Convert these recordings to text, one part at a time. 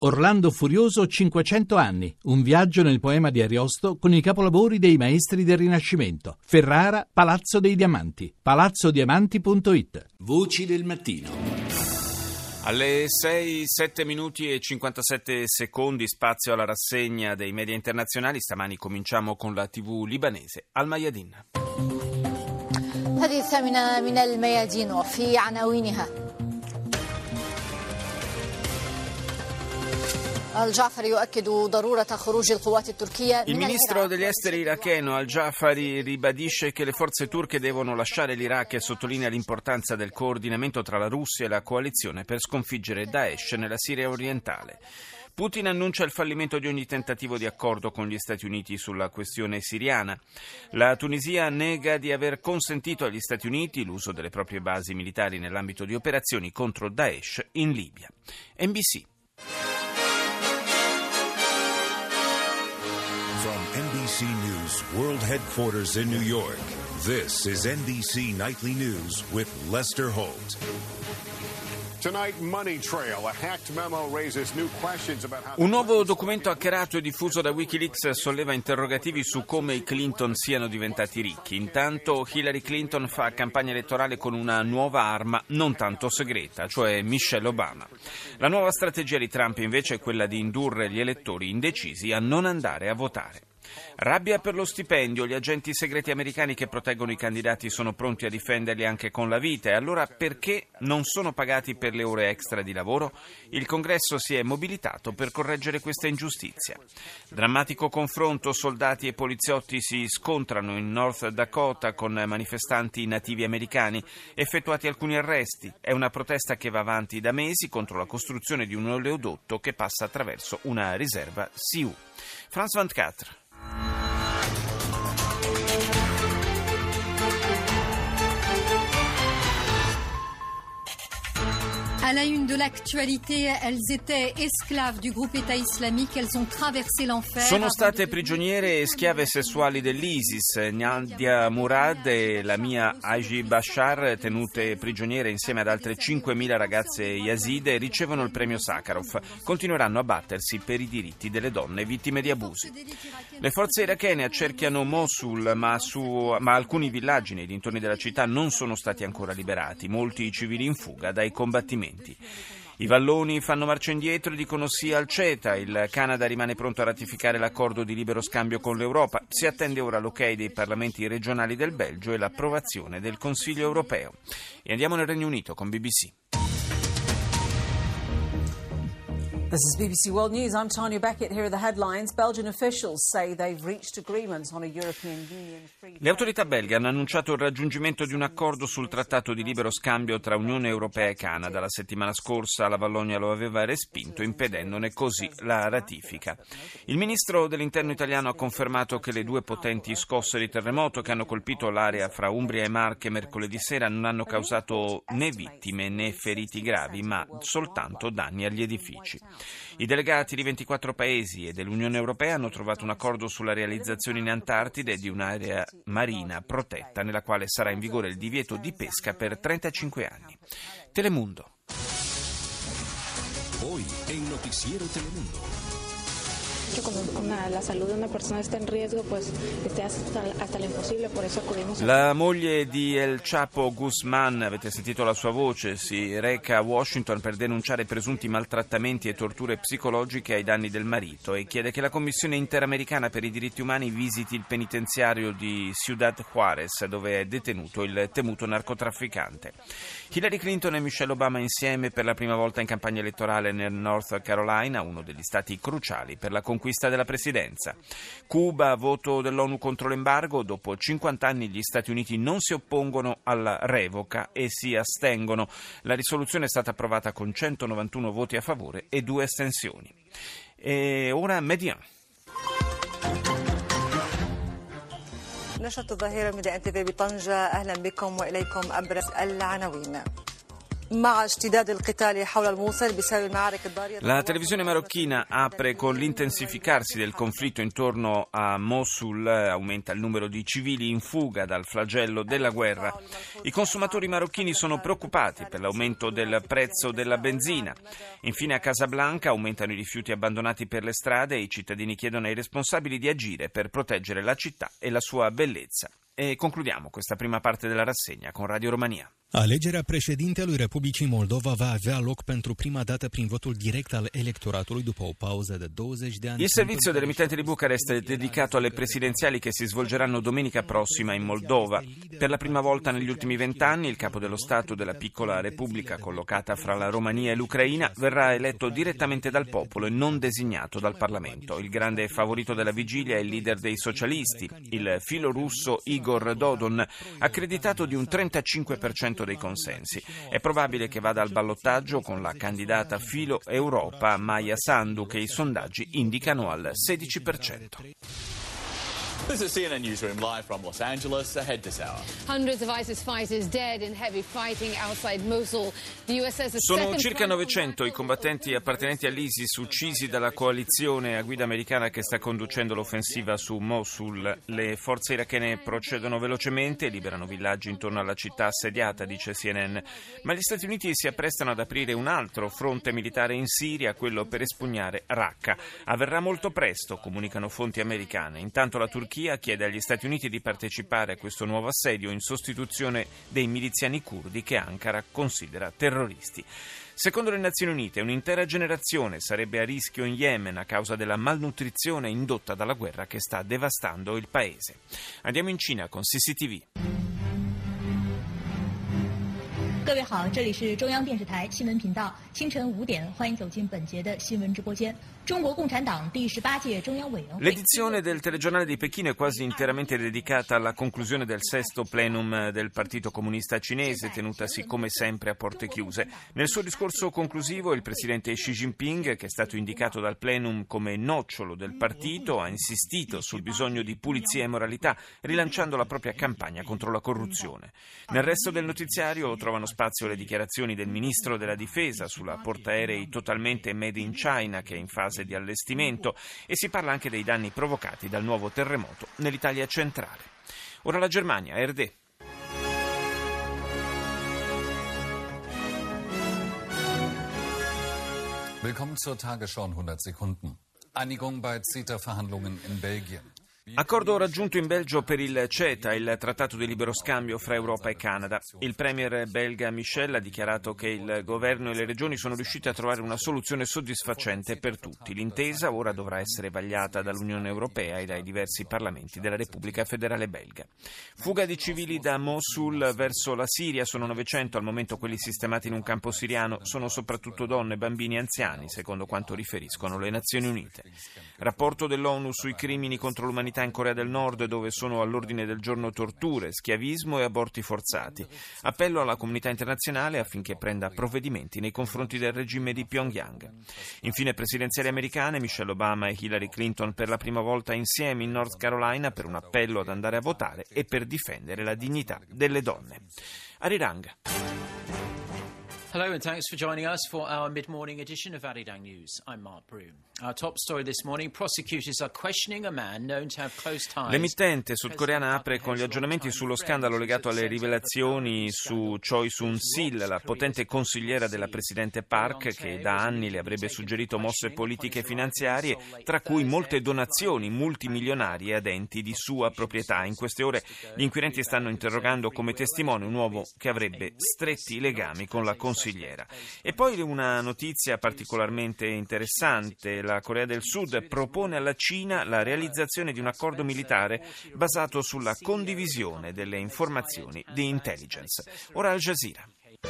Orlando Furioso 500 anni, un viaggio nel poema di Ariosto con i capolavori dei maestri del Rinascimento. Ferrara, Palazzo dei Diamanti, palazzodiamanti.it. Voci del mattino. Alle 6, 7 minuti e 57 secondi, spazio alla rassegna dei media internazionali. Stamani cominciamo con la TV libanese Al Mayadin. هذه الثامنة من الميادين وفي عناوينها Il ministro degli esteri iracheno Al-Jafari ribadisce che le forze turche devono lasciare l'Iraq e sottolinea l'importanza del coordinamento tra la Russia e la coalizione per sconfiggere Daesh nella Siria orientale. Putin annuncia il fallimento di ogni tentativo di accordo con gli Stati Uniti sulla questione siriana. La Tunisia nega di aver consentito agli Stati Uniti l'uso delle proprie basi militari nell'ambito di operazioni contro Daesh in Libia. NBC. From NBC News World Headquarters in New York, this is NBC Nightly News with Lester Holt. Un nuovo documento hackerato e diffuso da Wikileaks solleva interrogativi su come i Clinton siano diventati ricchi. Intanto Hillary Clinton fa campagna elettorale con una nuova arma non tanto segreta, cioè Michelle Obama. La nuova strategia di Trump invece è quella di indurre gli elettori indecisi a non andare a votare. Rabbia per lo stipendio, gli agenti segreti americani che proteggono i candidati sono pronti a difenderli anche con la vita, e allora perché non sono pagati per le ore extra di lavoro? Il Congresso si è mobilitato per correggere questa ingiustizia. Drammatico confronto, soldati e poliziotti si scontrano in North Dakota con manifestanti nativi americani, effettuati alcuni arresti. È una protesta che va avanti da mesi contro la costruzione di un oleodotto che passa attraverso una riserva Sioux. France 24. À la une de l'actualité, elles étaient esclaves du groupe État islamique, elles ont traversé l'enfer. Sono state prigioniere e schiave sessuali dell'ISIS. Nadia Murad e Lamia Haji Bashar, tenute prigioniere insieme ad altre 5.000 ragazze yazide, ricevono il premio Sakharov. Continueranno a battersi per i diritti delle donne vittime di abusi. Le forze irachene accerchiano Mosul, ma alcuni villaggi nei dintorni della città non sono stati ancora liberati. Molti civili in fuga dai combattimenti. I valloni fanno marcia indietro e dicono sì al CETA. Il Canada rimane pronto a ratificare l'accordo di libero scambio con l'Europa. Si attende ora l'ok dei parlamenti regionali del Belgio e l'approvazione del Consiglio europeo. E andiamo nel Regno Unito con BBC. This is BBC World News. I'm Tanya Beckett. Here are the headlines. Belgian officials say they've reached agreement on a European Union free. Le autorità belghe hanno annunciato il raggiungimento di un accordo sul trattato di libero scambio tra Unione Europea e Canada. La settimana scorsa la Vallonia lo aveva respinto, impedendone così la ratifica. Il ministro dell'Interno italiano ha confermato che le due potenti scosse di terremoto che hanno colpito l'area fra Umbria e Marche mercoledì sera non hanno causato né vittime né feriti gravi, ma soltanto danni agli edifici. I delegati di 24 paesi e dell'Unione Europea hanno trovato un accordo sulla realizzazione in Antartide di un'area marina protetta nella quale sarà in vigore il divieto di pesca per 35 anni. Telemundo. Hoy en Noticiero Telemundo. La salud de una persona está en riesgo, pues hasta lo imposible, por eso acudimos. La moglie di El Chapo Guzman, avete sentito la sua voce, si reca a Washington per denunciare presunti maltrattamenti e torture psicologiche ai danni del marito e chiede che la Commissione Interamericana per i diritti umani visiti il penitenziario di Ciudad Juárez, dove è detenuto il temuto narcotrafficante. Hillary Clinton e Michelle Obama insieme per la prima volta in campagna elettorale nel North Carolina, uno degli stati cruciali per la conquista della presidenza. Cuba, voto dell'ONU contro l'embargo. Dopo 50 anni gli Stati Uniti non si oppongono alla revoca e si astengono. La risoluzione è stata approvata con 191 voti a favore e 2 astensioni. E ora Median. نشرة الظاهرة من الانتباه بطنجة. أهلا بكم وإليكم أبرز العناوين. La televisione marocchina apre con l'intensificarsi del conflitto intorno a Mosul, aumenta il numero di civili in fuga dal flagello della guerra. I consumatori marocchini sono preoccupati per l'aumento del prezzo della benzina. Infine a Casablanca aumentano i rifiuti abbandonati per le strade e i cittadini chiedono ai responsabili di agire per proteggere la città e la sua bellezza. E concludiamo questa prima parte della rassegna con Radio Romania. Alegerea președintelui Republicii Moldova va avea loc pentru prima dată prin votul direct al elettoratului după o pauză de 20 de ani. Il servizio dell'emittente di Bucarest è dedicato alle presidenziali che si svolgeranno domenica prossima in Moldova. Per la prima volta negli ultimi 20 anni il capo dello Stato della piccola repubblica collocata fra la Romania e l'Ucraina verrà eletto direttamente dal popolo e non designato dal Parlamento. Il grande favorito della vigilia è il leader dei socialisti, il filorusso Igor Dodon, accreditato di un 35% dei consensi. È probabile che vada al ballottaggio con la candidata filo Europa Maia Sandu, che i sondaggi indicano al 16%. This is CNN Newsroom live from Los Angeles. Ahead this hour. Hundreds of ISIS fighters dead in heavy fighting outside Mosul. The US says Sono circa 900 i combattenti appartenenti all'ISIS uccisi dalla coalizione a guida americana che sta conducendo l'offensiva su Mosul. Le forze irachene procedono velocemente e liberano villaggi intorno alla città assediata, dice CNN. Ma gli Stati Uniti si apprestano ad aprire un altro fronte militare in Siria, quello per espugnare Raqqa. Avverrà molto presto, comunicano fonti americane. Intanto la Turchia chiede agli Stati Uniti di partecipare a questo nuovo assedio in sostituzione dei miliziani curdi che Ankara considera terroristi. Secondo le Nazioni Unite, un'intera generazione sarebbe a rischio in Yemen a causa della malnutrizione indotta dalla guerra che sta devastando il paese. Andiamo in Cina con CCTV. 各位好，这里是中央电视台新闻频道，清晨5点，欢迎走进本节的新闻直播间。中国共产党第18届中央委员会。 L'edizione del telegiornale di Pechino è quasi interamente dedicata alla conclusione del 6º plenum del Partito Comunista Cinese, tenutasi come sempre a porte chiuse. Nel suo discorso conclusivo il presidente Xi Jinping, che è stato indicato dal plenum come nocciolo del partito, ha insistito sul bisogno di pulizia e moralità, rilanciando la propria campagna contro la corruzione. Nel resto del notiziario trovano spazio le dichiarazioni del ministro della difesa sulla portaerei totalmente made in China che è in fase di allestimento e si parla anche dei danni provocati dal nuovo terremoto nell'Italia centrale. Ora la Germania, ARD. Willkommen zur Tagesschau in 100 Sekunden. Einigung bei CETA-Verhandlungen in Belgien. Accordo raggiunto in Belgio per il CETA, il trattato di libero scambio fra Europa e Canada. Il premier belga Michel ha dichiarato che il governo e le regioni sono riusciti a trovare una soluzione soddisfacente per tutti. L'intesa ora dovrà essere vagliata dall'Unione Europea e dai diversi parlamenti della Repubblica Federale Belga. Fuga di civili da Mosul verso la Siria, sono 900 al momento quelli sistemati in un campo siriano, sono soprattutto donne, bambini e anziani, secondo quanto riferiscono le Nazioni Unite. Rapporto dell'ONU sui crimini contro l'umanità in Corea del Nord, dove sono all'ordine del giorno torture, schiavismo e aborti forzati. Appello alla comunità internazionale affinché prenda provvedimenti nei confronti del regime di Pyongyang. Infine presidenziali americane, Michelle Obama e Hillary Clinton per la prima volta insieme in North Carolina per un appello ad andare a votare e per difendere la dignità delle donne. Arirang. Hello and thanks for joining us for our mid-morning edition of Arirang News. I'm Mark Broom. Our top story this morning, prosecutors are questioning a man known to have close ties. L'emittente sudcoreana apre con gli aggiornamenti sullo scandalo legato alle rivelazioni su Choi Soon-sil, la potente consigliera della presidente Park, che da anni le avrebbe suggerito mosse politiche e finanziarie, tra cui molte donazioni multimilionarie ad enti di sua proprietà. In queste ore gli inquirenti stanno interrogando come testimone un uomo che avrebbe stretti legami con la consigliera. E poi una notizia particolarmente interessante. La Corea del Sud propone alla Cina la realizzazione di un accordo militare basato sulla condivisione delle informazioni di intelligence. Ora Al Jazeera.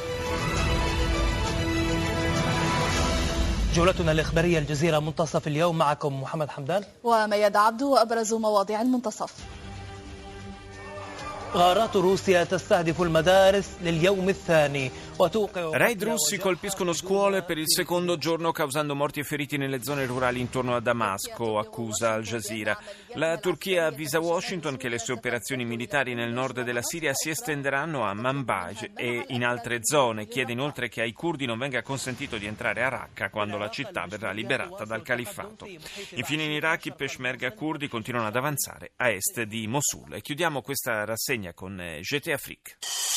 جولتنا الإخبارية الجزيرة منتصف اليوم معكم محمد حمدان ومياد عبدو وأبرز مواضيع المنتصف. غارات روسيا تستهدف المدارس لليوم الثاني Raid russi colpiscono scuole per il secondo giorno causando morti e feriti nelle zone rurali intorno a Damasco, accusa Al Jazeera. La Turchia avvisa Washington che le sue operazioni militari nel nord della Siria si estenderanno a Manbij e in altre zone. Chiede inoltre che ai curdi non venga consentito di entrare a Raqqa quando la città verrà liberata dal califfato. Infine in Iraq i peshmerga curdi continuano ad avanzare a est di Mosul. E chiudiamo questa rassegna con GT Afrique.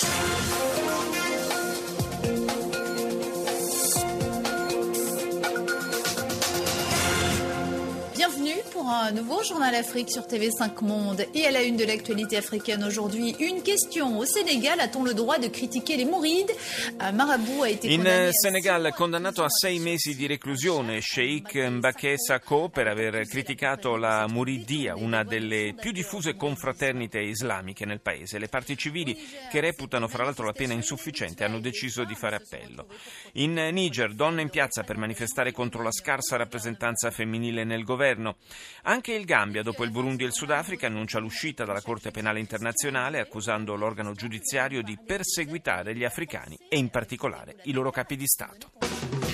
Bienvenue pour un nouveau Journal Afrique sur TV5 Monde. Et à la une de l'actualité africaine aujourd'hui, une question. Au Sénégal, a-t-on le droit de critiquer les mourides? Un marabout a été In Senegal condannato a 6 mesi di reclusione Sheikh Mbacké Sakho per aver criticato la Muridia, una delle più diffuse confraternite islamiche nel paese. Le parti civili, che reputano fra l'altro la pena insufficiente, hanno deciso di fare appello. In Niger, donne in piazza per manifestare contro la scarsa rappresentanza femminile nel governo. Anche il Gambia, dopo il Burundi e il Sudafrica, annuncia l'uscita dalla Corte Penale Internazionale accusando l'organo giudiziario di perseguitare gli africani e in particolare i loro capi di Stato.